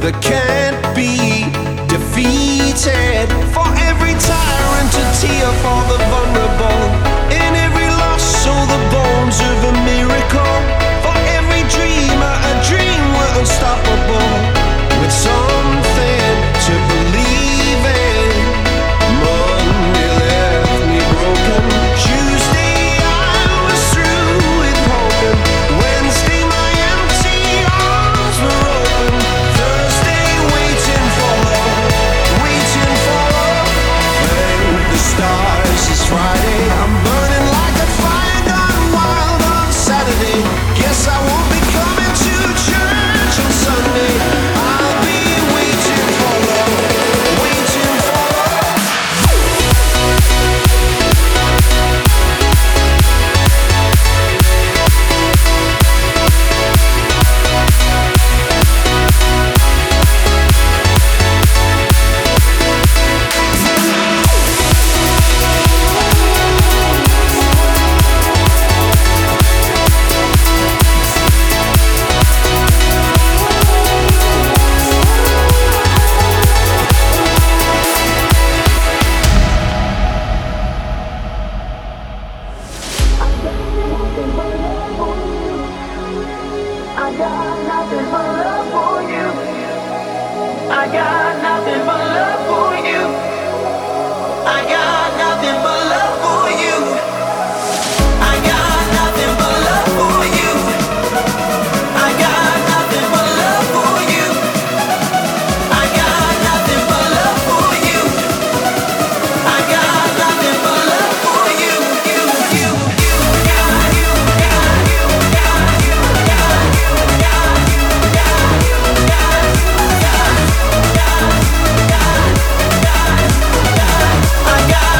that can't be defeated. For every tyrant, a tear for the vulnerable. In every loss, sow the bones of a miracle. For every dreamer, a dream we're unstoppable. With something to believe in. Monday left me broken. Tuesday I was through with hoping. Wednesday my empty arms were open. Thursday waiting for love, waiting for love. Thank the stars it's Friday. I'm burning like a fire gone wild on Saturday. Guess I won't be coming to church on Sunday. I'll be waiting for love, waiting for love. I got nothing but love for you. I got nothing but love for you. I got nothing but love for you. I got nothing but love for you. I got nothing but love for you. I got nothing but love for you. I got nothing but love for you. I got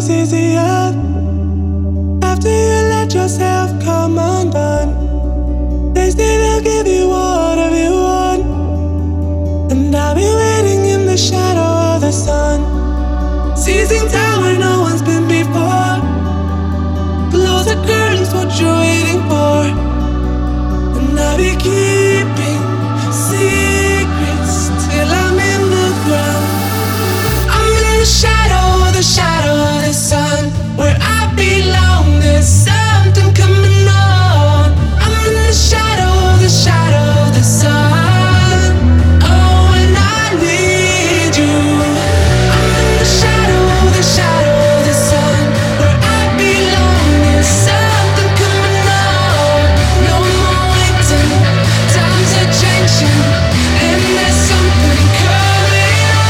was easier after you let yourself come undone. They say they'll give you whatever you want, and I'll be waiting in the shadow of the sun, seizing time where no one's been before. Close the curtains, what you're waiting for, and I'll be keeping secrets till I'm in the ground. I'm in the shadow of the sun, where I belong. There's something coming on. I'm in the shadow of the sun. Oh, and I need you. I'm in the shadow of the sun, where I belong. There's something coming on. No more waiting, times are changing, and there's something coming on.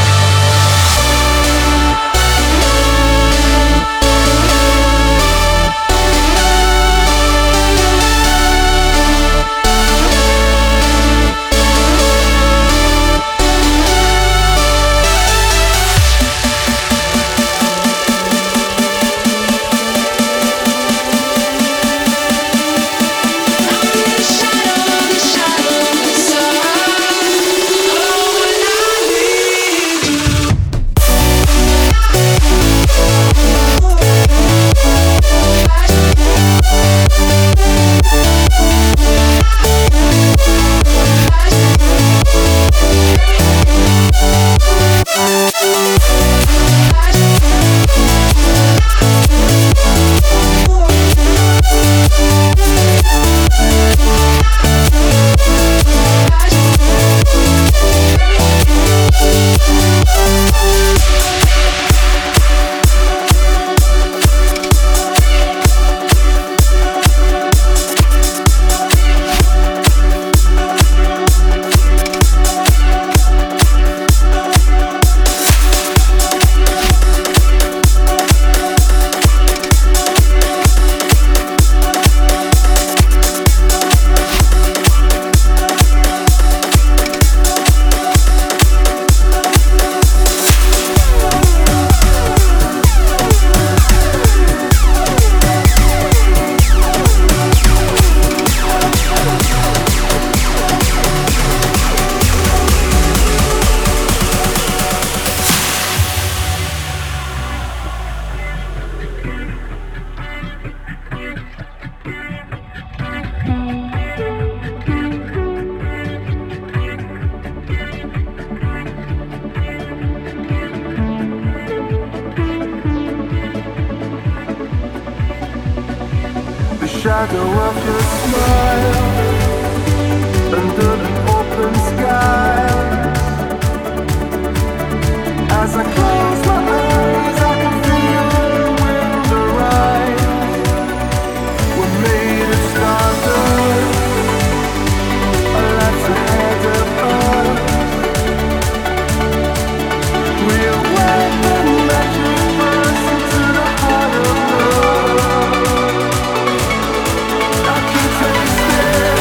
Shadow of your smile under the open skies. As I close my eyes, I can feel the wind arise. We're made of stardust, our lives ahead of us. We'll wave the magic burst into the heart of love. I can taste it.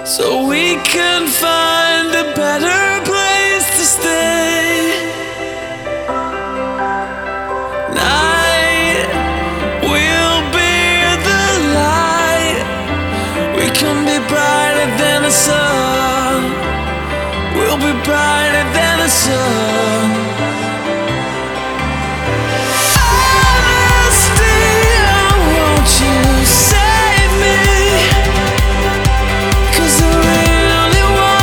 so we can find a better place to stay. Night will be the light. We can be brighter than the sun. We'll be brighter than the sun. Honesty, won't you save me? 'Cause I really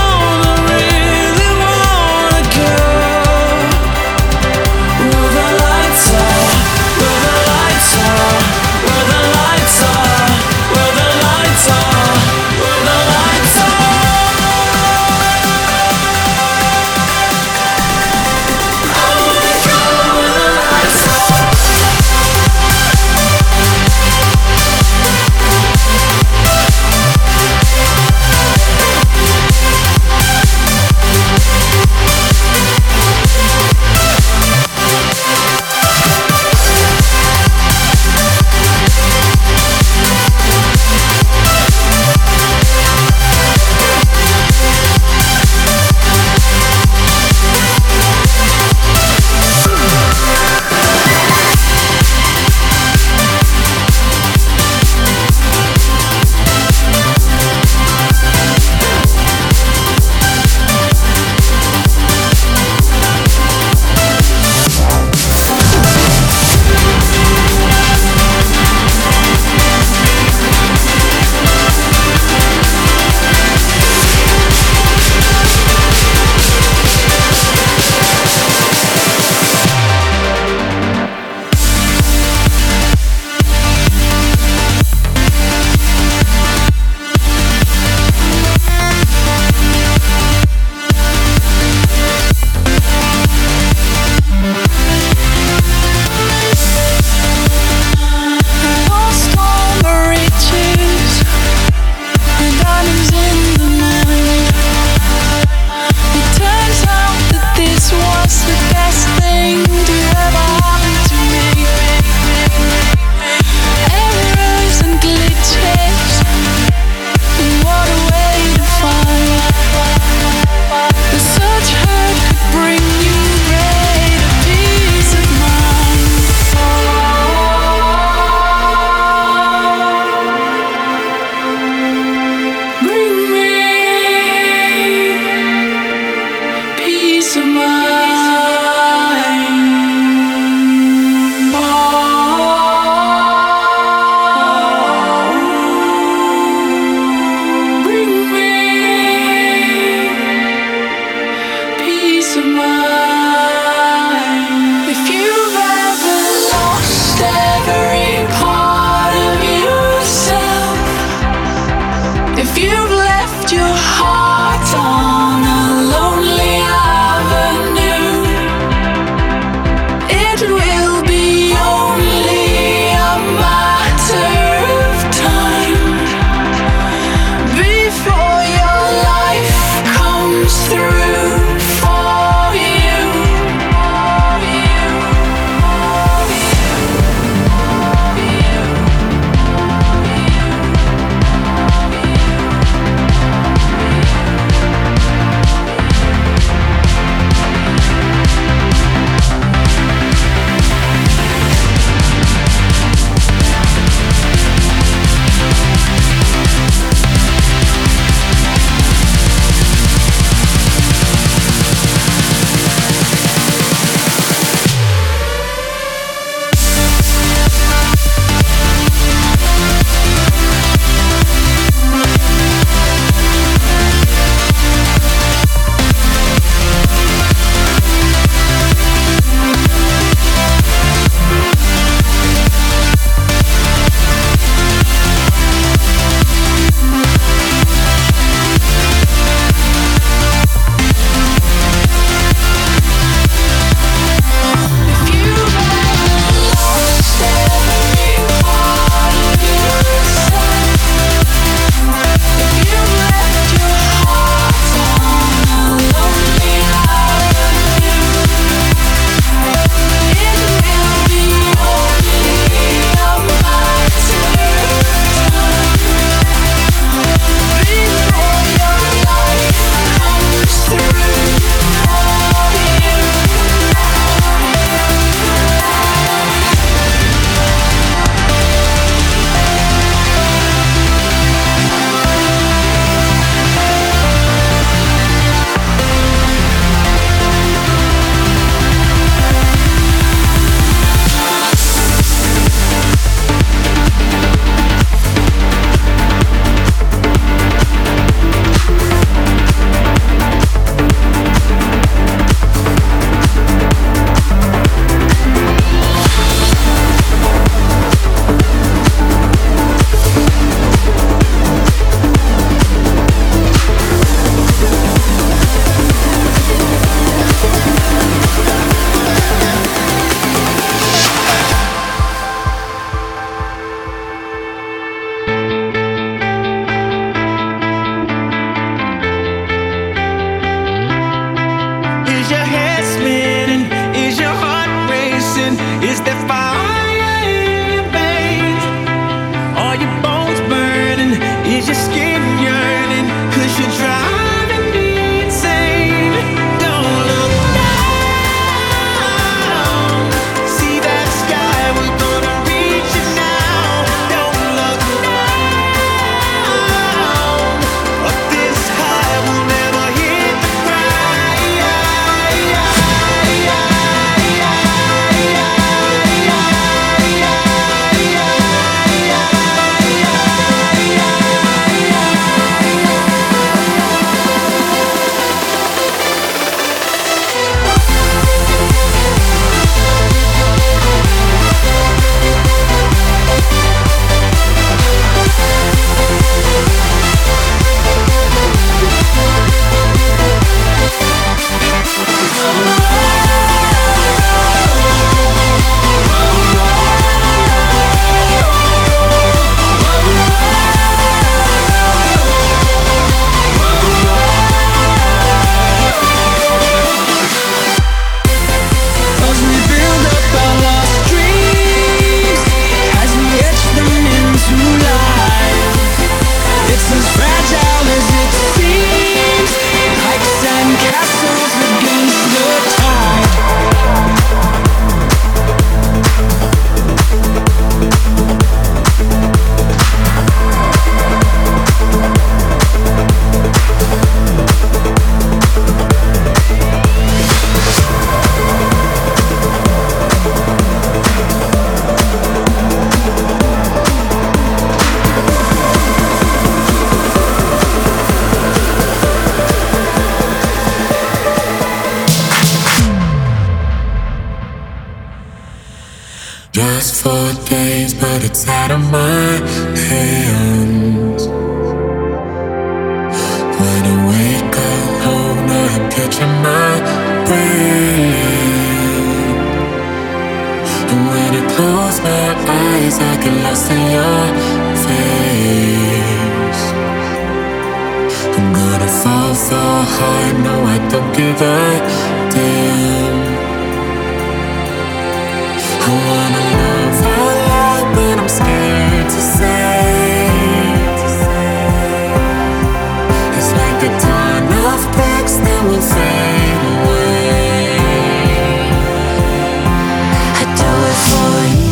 wanna go where the lights are, where the lights are, where the lights are, where the lights are, where the lights are. slips out of my hands. When I wake alone, I picture my brain. And when I close my eyes, I get lost in your face. I'm gonna fall so hard, no, I don't give a damn. I wanna love out loud, but I'm scared to say. It's like the dawn of bricks that will fade away. I do it for you.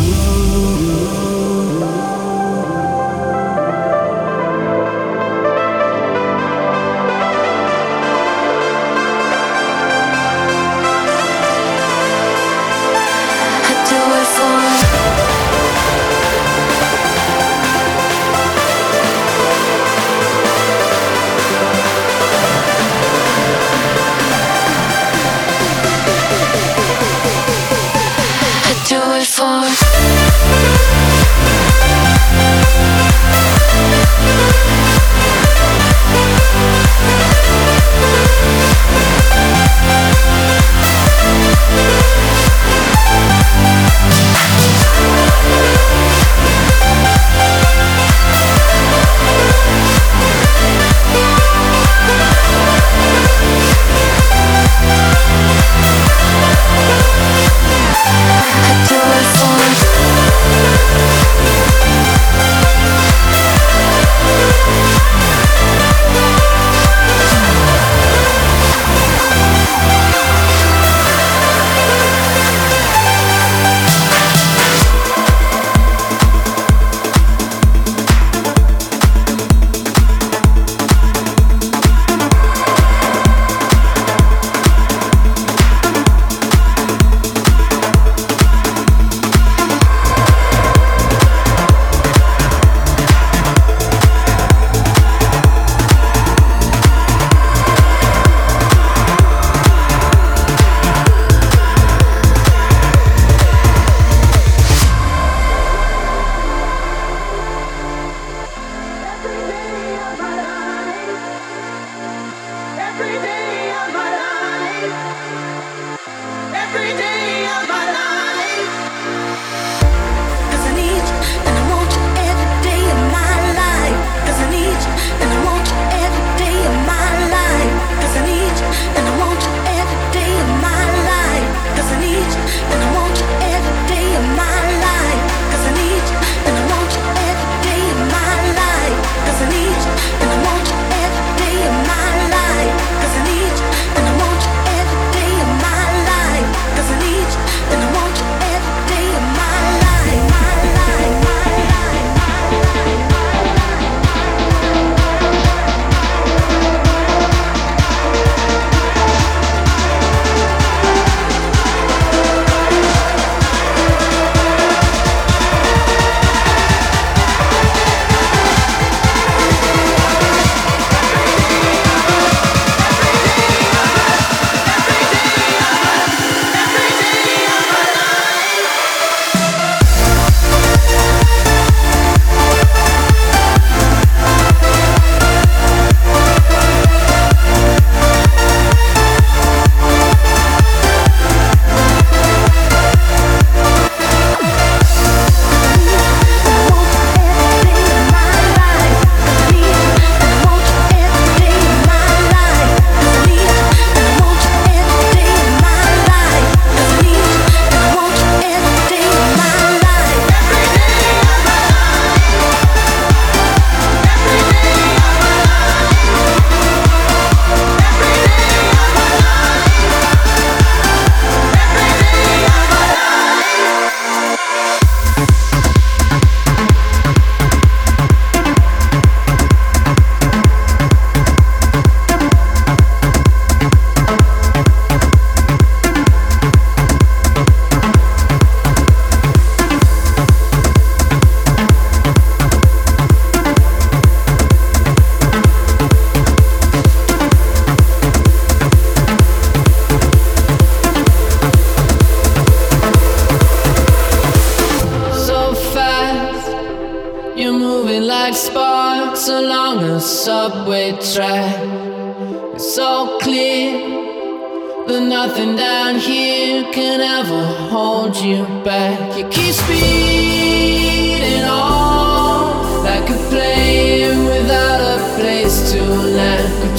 one-way track. It's so clear that nothing down here can ever hold you back. You keep speeding on like a plane without a place to land. But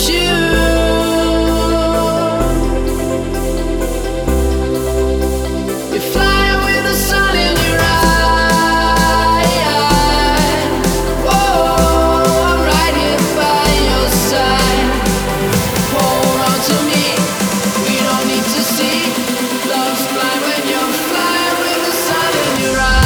you're flying with the sun in your eye. Whoa, I'm right here by your side. Hold on to me. We don't need to see. Love's blind when you're flying with the sun in your eye.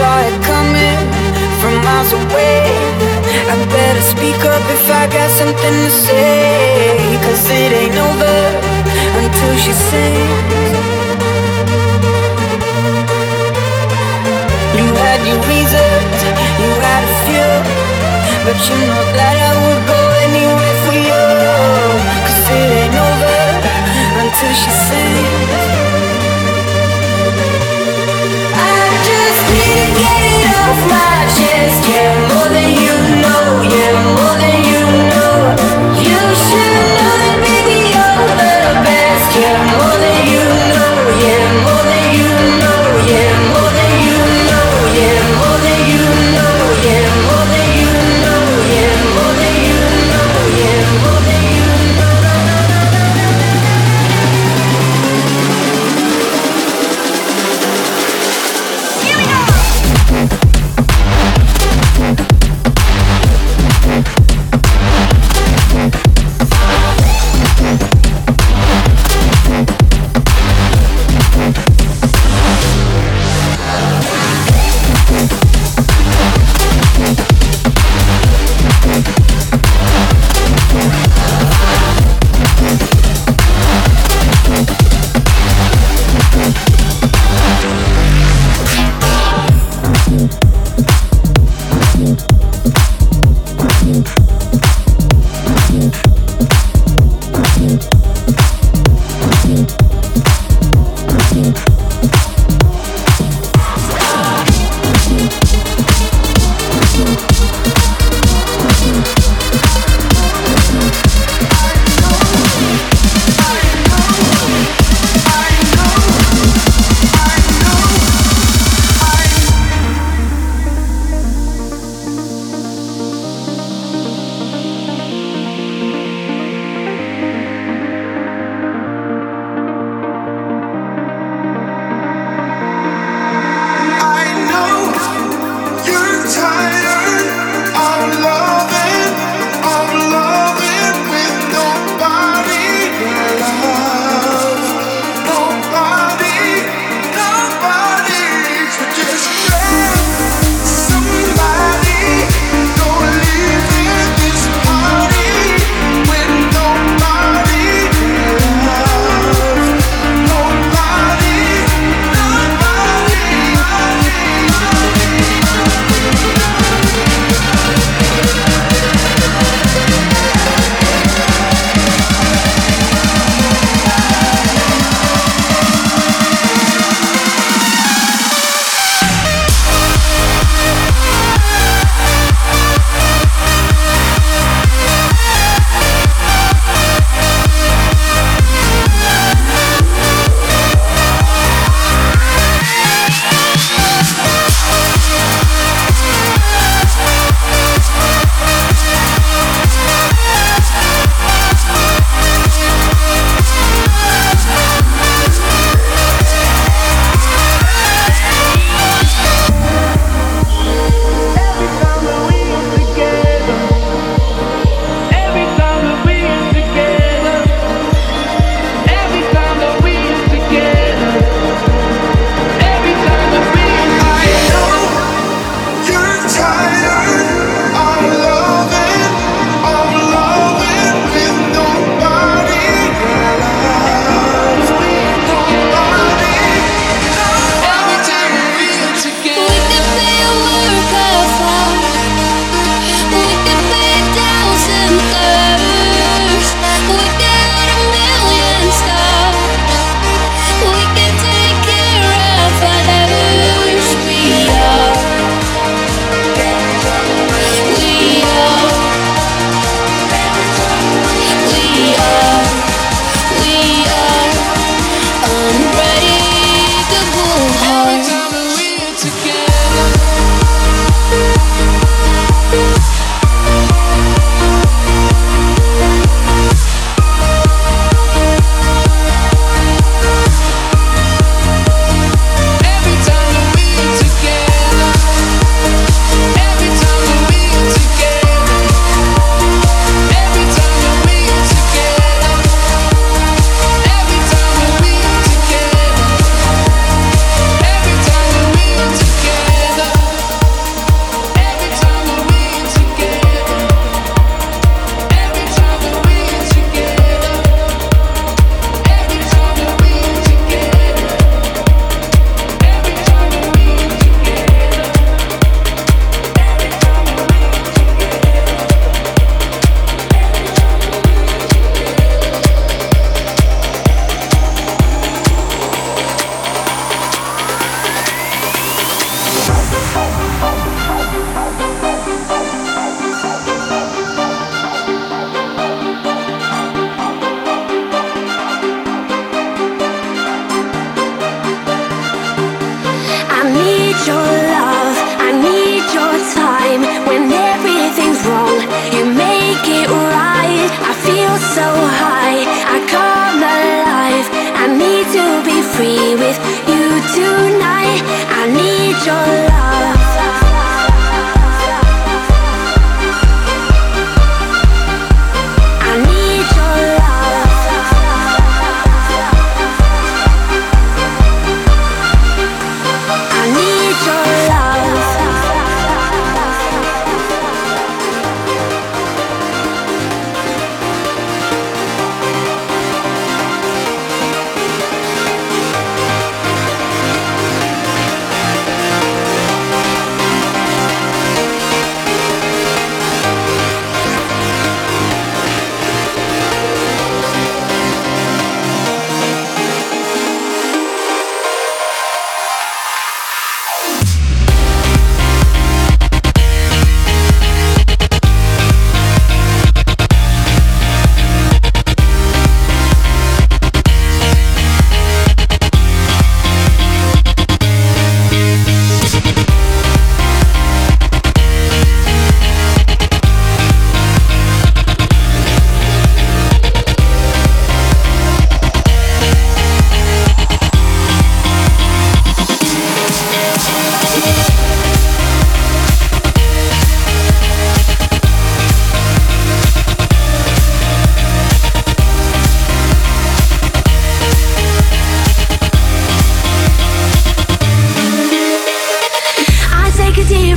saw it coming from miles away. I better speak up if I got something to say, 'cause it ain't over until she sings. You had your reasons, you had a few, but you know that I would go anywhere for you, 'cause it ain't over until she sings. I just need to get it off my chest. Yeah, more than you know. Yeah, more than you know. You should know that, baby, you're the best. Yeah, more than you know. Yeah, more than you know. Yeah, more than you know. Yeah, more than you know. Yeah, more than you know. Yeah, more than you know. Yeah, more than you know.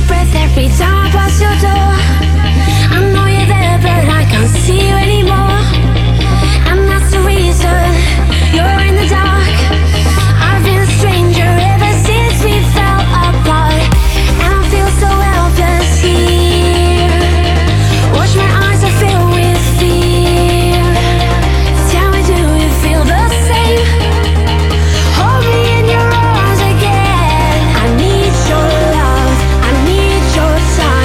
breath every time I pass your door. I know you're there, but I can't see you anymore. And that's the reason you're in the dark. I've been a stranger ever since we fell apart, and I feel so helpless here. Watch my eyes are filled with fear. Tell me, do you feel the same? Hold me in your arms again. I need your love, I need your time.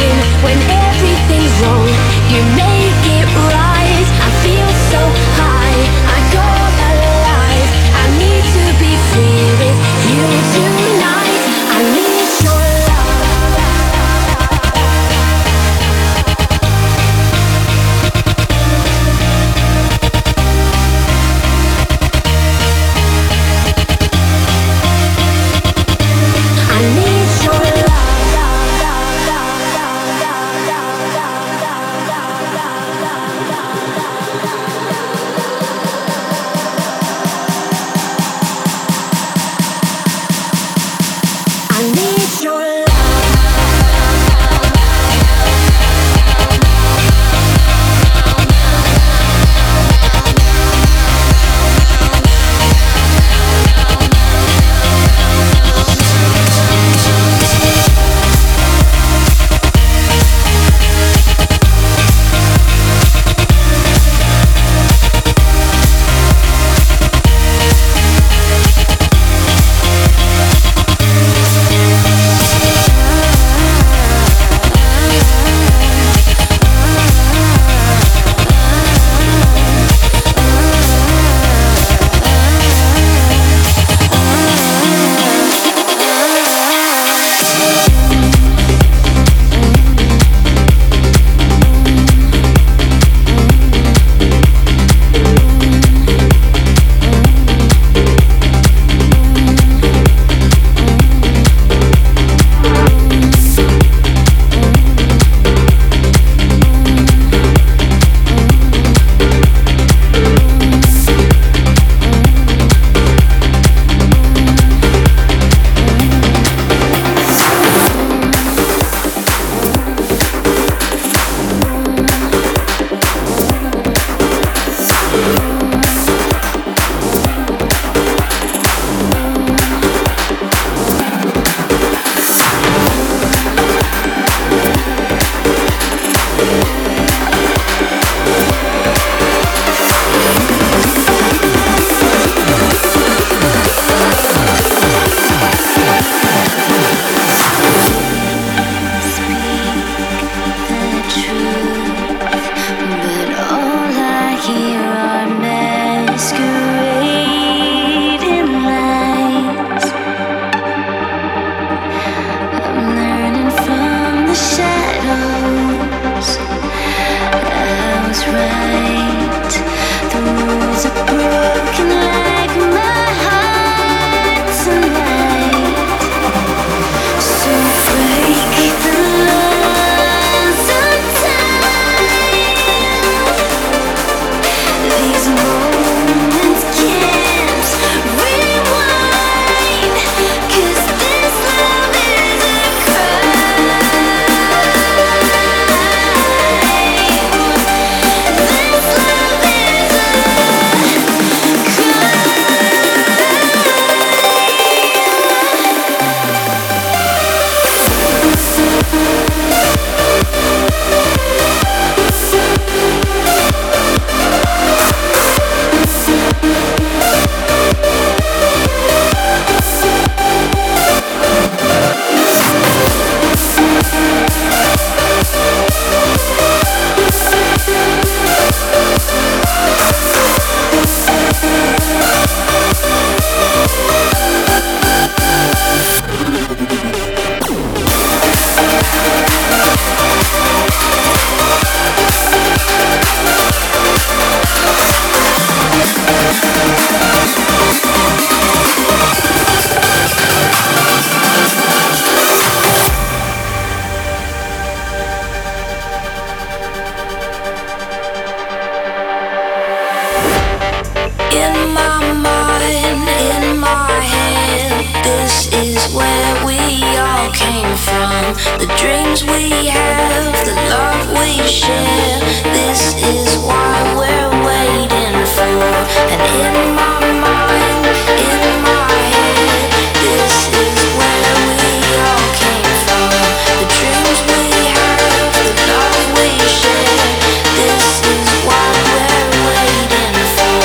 mind. The dreams we have, the love we share. This is what we're waiting for. And in my mind, in my head, this is where we all came from. The dreams we have, the love we share. This is what we're waiting for.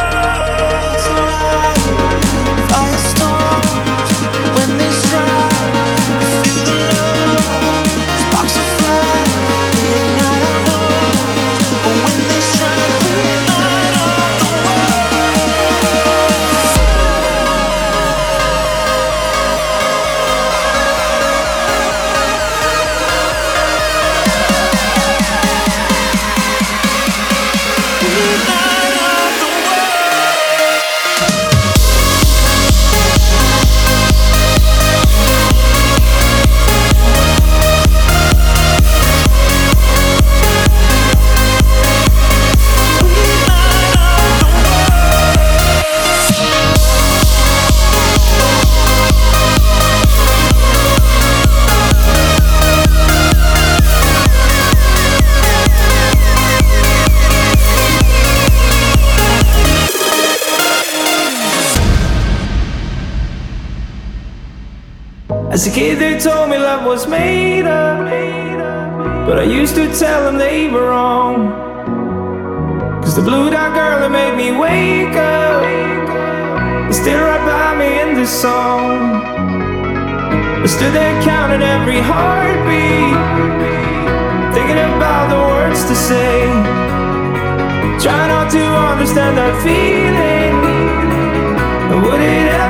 Firestorms when they strike. As a kid they told me love was made up, but I used to tell them they were wrong. Cause the blue dot girl that made me wake up is still right by me in this song. I stood there counting every heartbeat, thinking about the words to say. Try not to understand that feeling. Would it ever